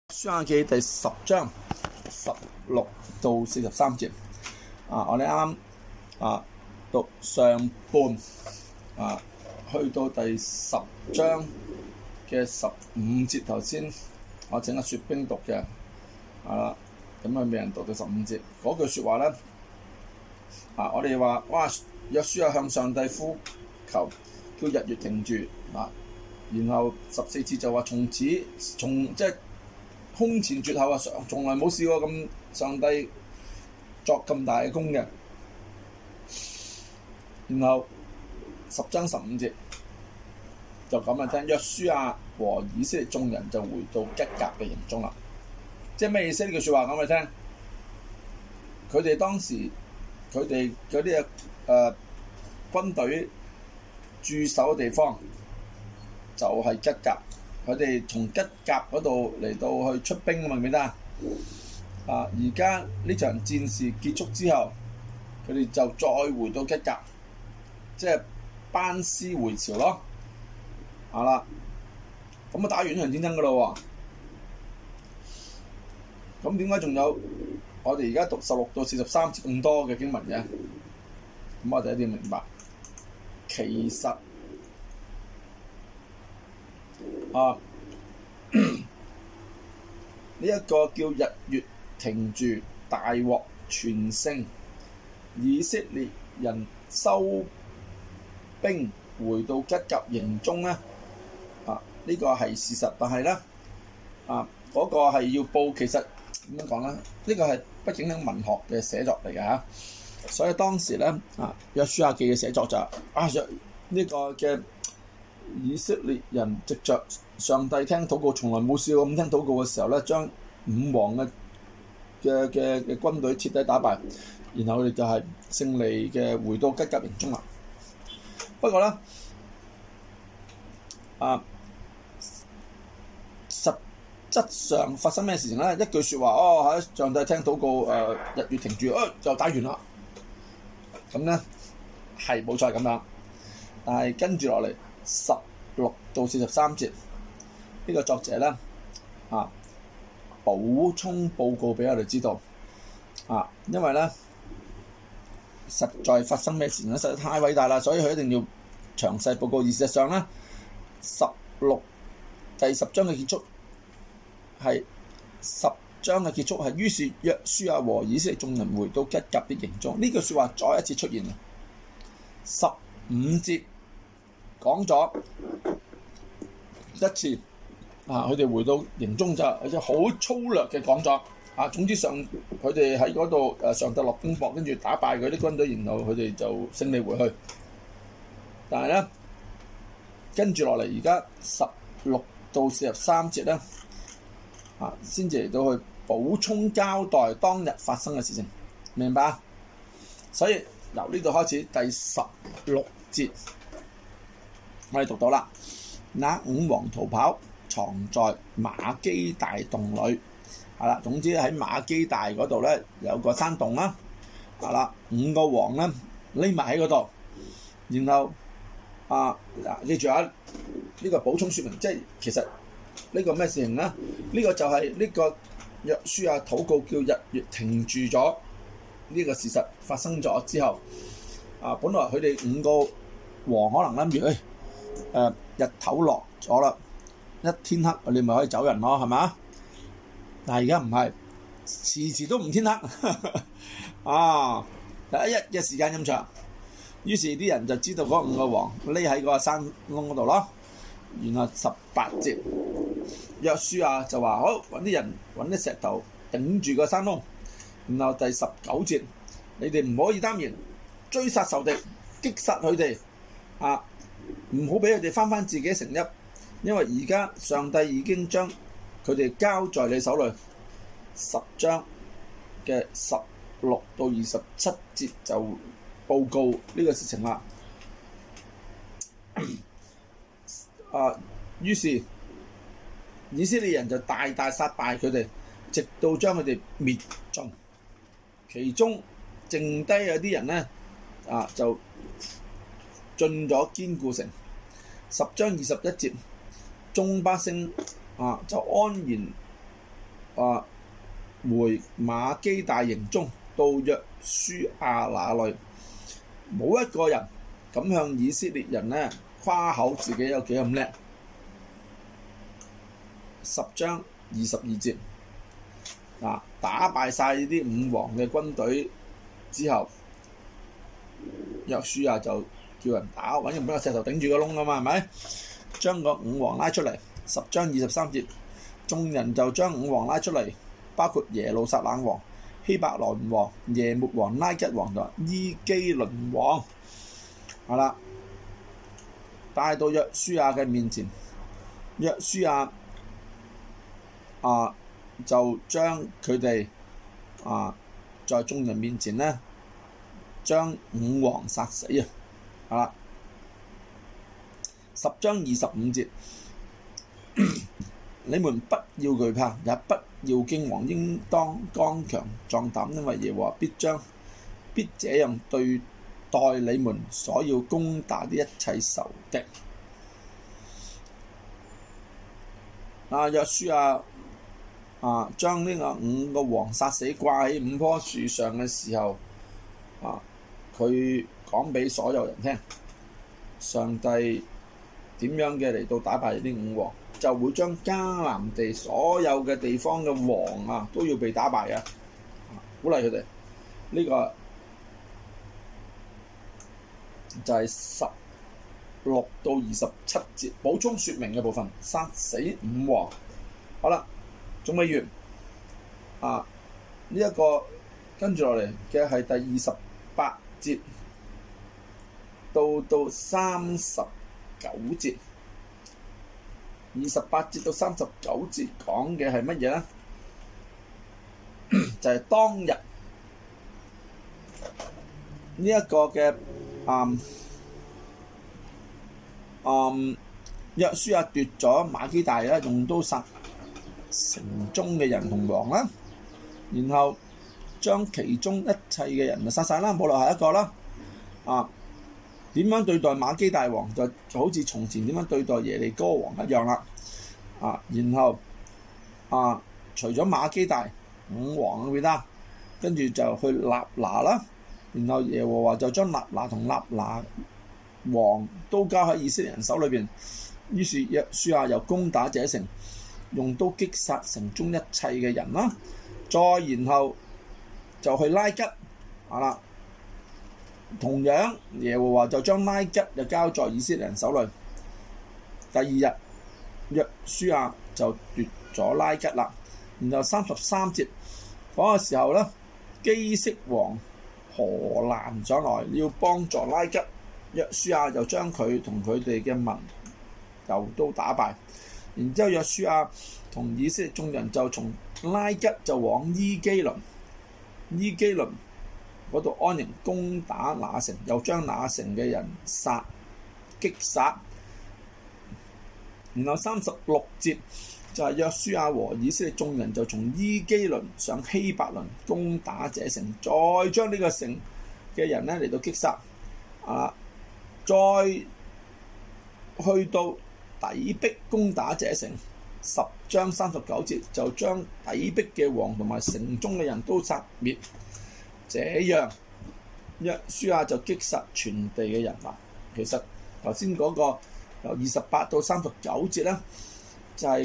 書亞記第10章16到43節。我哋啱啱讀上半去到第10章嘅15節。頭先我請阿雪冰讀嘅，咁佢未人讀到15節嗰句說話咧。我哋話哇，約書亞向上帝呼求，叫日月停住然後14節就話從即係空前絕後從來冇試過咁上帝作咁大嘅功嘅。然後10章15節就咁聽，約書亞和以色列眾人就回到吉甲嘅營中啦。即係咩意思？呢句說話講俾你聽，佢哋當時佢哋嗰啲軍隊駐守嘅地方就係吉甲。佢哋從吉甲嗰度嚟到去出兵，明唔明得而家呢場戰事結束之後，佢哋就再回到吉甲，即係班師回朝咯。咁打完呢場戰爭噶咯喎。咁點解仲有我哋而家讀16到43節咁多嘅經文嘅？咁我哋一定要明白，其實呢一個叫日月停住，大獲全勝，以色列人收兵回到吉甲營中咧。呢個係事實，但係咧嗰個係要報。其實點樣講咧？呢個係畢竟係文學嘅寫作嚟嘅嚇，所以當時咧約書亞記嘅寫作就呢個嘅以色列人藉着上帝聽禱告，從來冇試過咁聽禱告嘅時候咧，將五王嘅軍隊徹底打敗，然後佢哋就係勝利嘅回到吉甲營中啦。不過咧實質上發生咩事情咧？一句説話喺上帝聽禱告，日月停住，就打完啦。咁咧係冇錯咁樣，但係跟住落嚟16到43節，呢個作者咧補充報告俾我哋知道因為咧實在發生咩事情咧，實在太偉大啦，所以佢一定要詳細報告。而事實上咧，第10章嘅結束係10章嘅結束係，於是約書亞和以色列眾人回到吉甲的營中。呢句説話再一次出現，15節講咗一次佢哋回到營中就好粗略嘅講咗總之佢哋喺嗰度上帝落冰雹，跟住打敗佢啲軍隊，然後佢哋就勝利回去。但係咧跟住落嚟，而家16到43節咧先至嚟到去補充交代當日發生嘅事情，明白？所以由呢度開始第16節，我哋讀到啦。那五王逃跑，藏在馬基大洞裏。總之喺馬基大嗰度咧有個山洞啦。五個王咧匿埋喺嗰度，然後記住呢個補充說明，即係其實呢個咩事情咧？呢個就係呢個約書亞禱告叫日月停住咗呢個事實發生咗之後，本來佢哋五個王可能諗住日頭落咗啦，一天黑你咪可以走人咯，係咪？但係而家唔係，遲都唔天黑第一日嘅時間咁長，於是啲人就知道嗰五個王匿喺個山窿嗰度咯。然後18節，約書亞就話好，揾啲人揾啲石頭頂住個山窿。然後第19節，你哋唔可以耽延，追殺仇敵，擊殺佢哋唔好俾佢哋翻自己城邑，因為而家上帝已經將佢哋交在你手裏。10章嘅16到27節就報告呢個事情啦。於是以色列人就大大殺敗佢哋，直到將佢哋滅盡。其中剩低有啲人咧就進咗堅固城。10章21節，眾百姓就安然回馬基大營中，到約書亞那裏，冇一個人敢向以色列人呢誇口自己有幾咁叻。10章22節，打敗晒呢啲五王嘅軍隊之後，約書亞就叫人打，揾人俾個石頭頂住個窿㗎嘛，係咪？將個五王拉出嚟。10章23節，眾人就將五王拉出嚟，包括耶路撒冷王、希伯來王、耶末王、拉吉王同伊基倫王，係啦，帶到約書亞嘅面前。約書亞就將佢哋在眾人面前呢，將五王殺死啊！係啦，10章25節，你們不要懼怕，也不要驚惶，應當剛強壯膽，因為耶和華必這樣對待你們所要攻打的一切仇敵。約書亞將呢個五個王殺死，掛喺五棵樹上嘅時候，佢講俾所有人聽，上帝點樣嘅嚟到打敗呢啲五王，就會將迦南地所有嘅地方嘅王都要被打敗嘅，鼓勵佢哋。呢個就係16到27節補充說明嘅部分，殺死五王。好啦，仲未完呢一個跟住落嚟嘅係第28節到39節。28節到39節講嘅係乜嘢呢？就係當日呢一個嘅約書亞奪咗馬基大啦，用刀殺城中嘅人同王啦，然後將其中一切嘅人就殺晒啦，冇留下一個啦。點樣對待馬基大王就好似從前點樣對待耶利哥王一樣啦。然後除咗馬基大五王嗰邊啦，跟住就去納拿啦，然後耶和華就將納拿同納拿王都交喺以色列人手裏邊。於是約書亞又攻打這城，用刀擊殺城中一切嘅人啦。再然後就去拉吉啦。同樣耶和華就將拉吉就交在以色列人手裏。第二日約書亞就奪咗拉吉啦。然後33節嗰個時候咧，基色王何蘭上來要幫助拉吉，約書亞就將佢同佢哋嘅民又都打敗。然之後約書亞同以色列眾人就從拉吉就往伊基倫嗰度安營攻打那城，又將那城嘅人擊殺。然後36節就係約書亞和以色列眾人就從伊基倫上希伯倫攻打這城，再將呢個城嘅人咧嚟到擊殺。再去到底壁攻打這城。10章39節就將底壁嘅王同埋城中嘅人都殺滅。這樣約書亞就擊殺全地嘅人啦。其實頭先嗰個由28到39節咧，就係、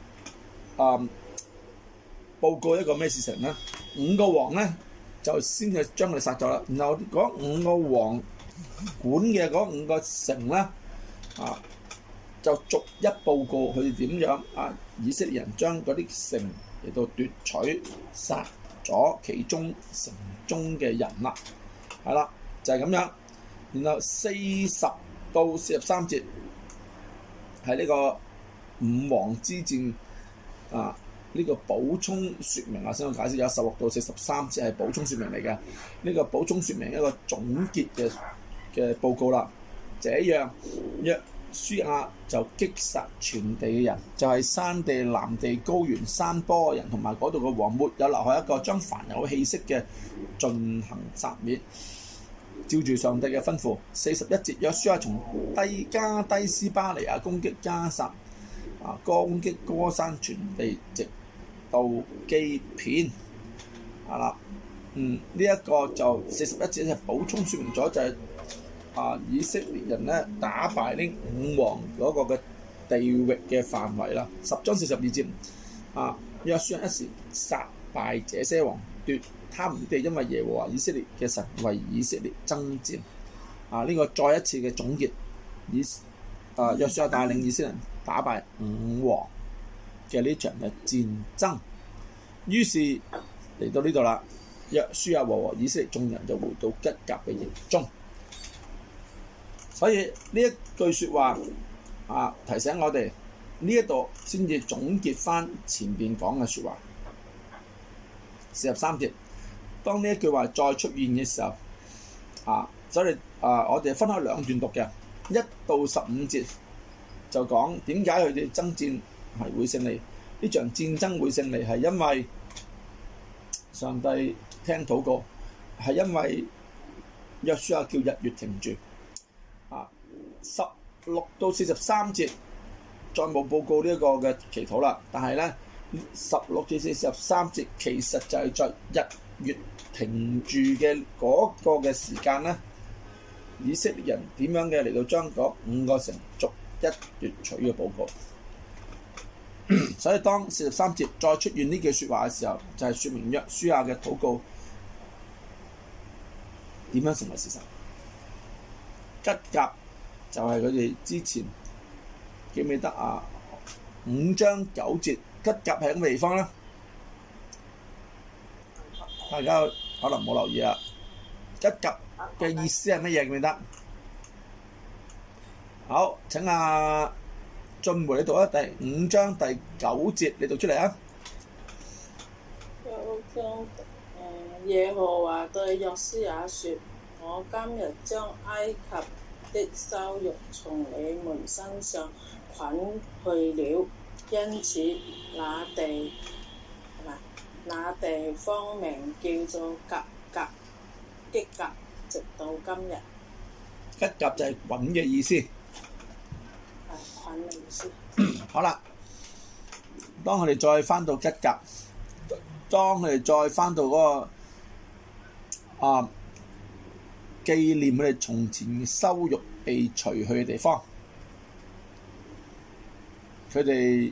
報告一個咩事情咧？五個王咧就先係將佢哋殺咗啦。然後嗰五個王管嘅嗰五個城咧，就逐一報告佢哋點樣以色列人將嗰啲城嚟到奪取殺咗其中城中嘅人啦。係啦，就係咁樣。然後40到43節係呢個五王之戰呢個補充説明先我解釋咗。16到43節係補充説明嚟嘅，呢個補充説明一個總結嘅報告啦。這樣約書亞就擊殺全地嘅人，就係山地、南地、高原、山坡人同埋嗰度嘅王，沒有留下一個，將凡有氣息嘅盡行殺滅，照住上帝嘅吩咐。41節，約書亞從加低斯巴尼亞攻擊加薩，攻擊歌珊，全地直妒忌片啦。呢一個就41節就補充説明咗就係以色列人咧打敗呢五王嗰個嘅地域嘅範圍啦。10章42節約書亞一時殺敗這些王，奪他們地，因為耶和華以色列嘅神為以色列爭戰。呢個再一次嘅總結，約書亞帶領以色列人打敗五王嘅呢場嘅戰爭。於是嚟到呢度啦，約書亞和以色列眾人就回到吉甲嘅營中。所以呢一句説話提醒我哋呢一度先至總結翻前邊講嘅説話。43節，當呢一句話再出現嘅時候，所以我哋分開兩段讀嘅，1到15節就講點解佢哋爭戰係會勝利，呢場戰爭會勝利係因為上帝聽禱告，係因為約書亞叫日月停住。16到43節再冇報告呢一個嘅祈禱啦，但係咧16至43節其實就係在日月停住嘅嗰個嘅時間咧，以色列人點樣嘅嚟到將嗰5個城逐一奪取嘅報告。所以當43節再出現呢句説話嘅時候，就係説明約書亞嘅禱告點樣成為事實。吉甲就係佢哋之前記唔記得5章9節吉甲係咁嘅地方啦，大家可能冇留意啦。吉甲嘅意思係乜嘢？記唔記得？好，請俊梅你讀第5章第9節，你讀出嚟啊！ 耶和華對約書亞說：我今日將埃及的羞辱從你們身上捆去了，因此那地方名叫做吉甲，直到今日。 吉甲就係滾嘅意思。 捆嘅意思。 好啦，當佢哋再翻到吉甲，當佢哋再翻到嗰個紀念佢哋從前嘅羞辱被除去嘅地方，佢哋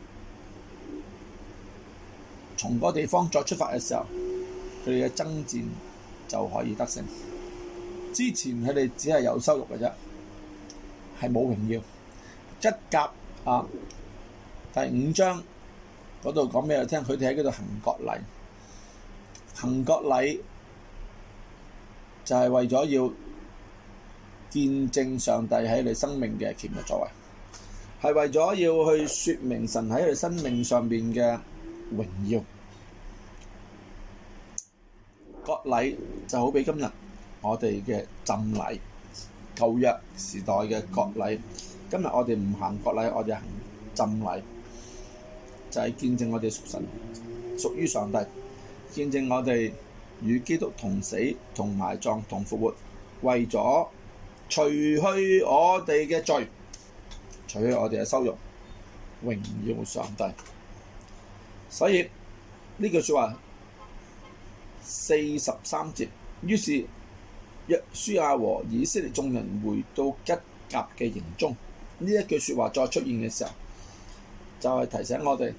從嗰個地方再出發嘅時候，佢哋嘅爭戰就可以得勝。之前佢哋只係有羞辱嘅啫，係冇榮耀。吉甲第5章嗰度講俾我聽，佢哋喺嗰度行割禮。行割禮就係為咗要見證上帝喺你生命嘅奇妙作為，係為咗要去説明神喺佢生命上邊嘅榮耀。割禮就好比今日我哋嘅浸禮，舊約時代嘅割禮。今日我哋唔行割禮，我哋行浸禮，就係見證我哋屬神，屬於上帝，見證我哋與基督同死、同埋葬、同復活，為咗除去我哋嘅罪，除去我哋嘅羞辱，榮耀上帝。所以呢句説話43節，於是約書亞和以色列眾人回到吉甲嘅營中。呢一句説話再出現嘅時候，就係提醒我哋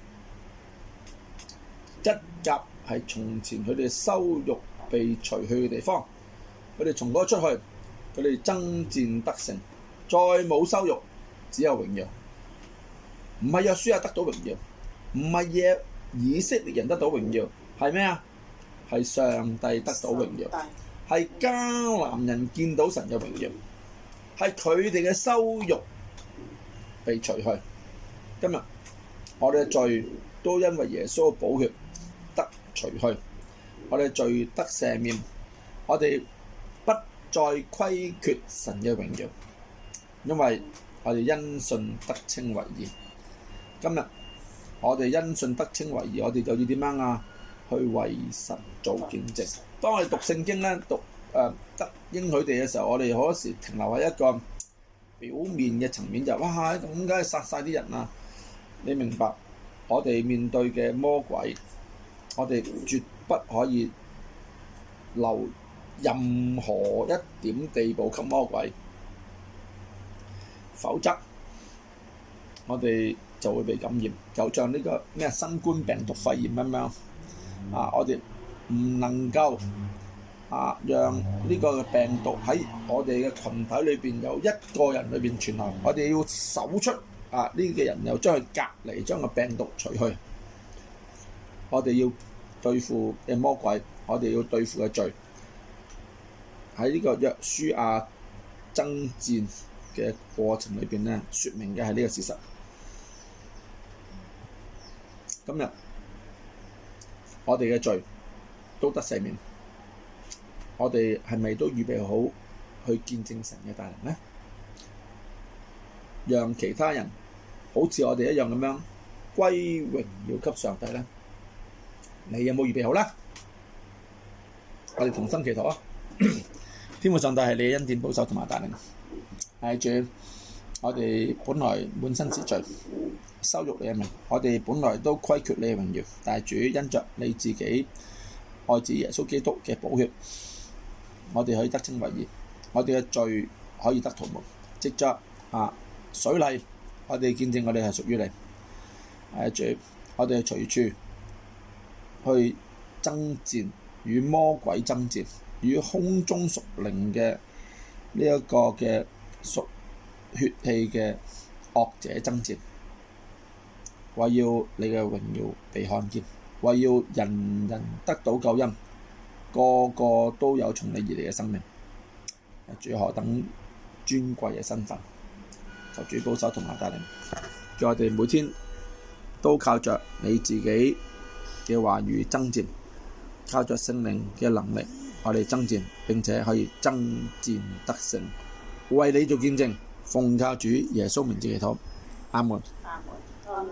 吉甲係從前佢哋羞辱被除去嘅地方。佢哋從嗰出去，佢哋爭戰得勝，再冇羞辱，只有榮耀。唔係約書亞得到榮耀，唔係以色列人得到榮耀，係咩啊？係上帝得到榮耀，係迦南人見到神嘅榮耀，係佢哋嘅羞辱被除去。今日我哋嘅罪都因為耶穌嘅寶血得除去，我哋嘅罪得赦免，我哋不再虧缺神嘅榮耀，因為我哋因信得稱為義。今日我哋因信得稱為義，我哋就要點樣啊？去為神做見證。當我哋讀聖經咧，讀得應許地嘅時候，我哋好多時停留喺一個表面嘅層面，就哇咁梗係殺晒啲人啊！你明白我哋面對嘅魔鬼，我哋絕不可以留任何一點地步給魔鬼，否則我哋就會被感染，就像呢個新冠病毒肺炎咁樣我哋唔能夠讓呢個病毒喺我哋嘅群體裏邊由一個人裏邊傳流，我哋要搜出呢個人，又將佢隔離，將個病毒除去。我哋要對付嘅魔鬼，我哋要對付嘅罪，喺呢個約書亞爭戰嘅過程裏邊咧，説明嘅係呢個事實。今日我哋嘅罪都得赦免，我哋係咪都預備好去見證神嘅大能呢？讓其他人好似我哋一樣咁樣歸榮耀給上帝呢？你有冇預備好呢？我哋同心祈禱啊！天父上帝係你嘅恩典保守同埋大能，係主，我哋本來滿身是罪，羞辱你嘅名，我哋本來都虧缺你嘅榮耀，但係主因着你自己愛子耶穌基督嘅寶血，我哋可以得稱為義，我哋嘅罪可以得塗抹，藉着水禮，我哋見證我哋係屬於你，主，我哋隨處去爭戰，與魔鬼爭戰，與空中屬靈嘅呢一個嘅屬血氣嘅惡者爭戰，為要你嘅榮耀被看見，為要人人得到救恩，個個都有從你而嚟嘅生命。主，何等尊貴嘅身份，求主保守同埋帶領，叫我哋每天都靠着你自己嘅話語爭戰，靠着聖靈嘅能力，我哋爭戰，並且可以爭戰得勝，為你做見證，奉靠主耶穌名字祈禱，阿門。